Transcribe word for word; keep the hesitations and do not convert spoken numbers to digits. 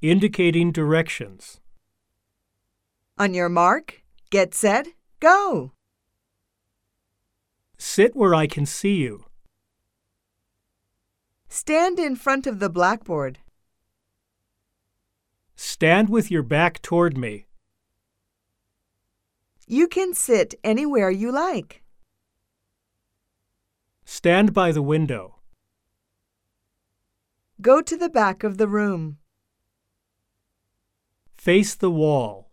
Indicating directions. On your mark, get set, go! Sit where I can see you. Stand in front of the blackboard. Stand with your back toward me. You can sit anywhere you like. Stand by the window. Go to the back of the room. Face the wall.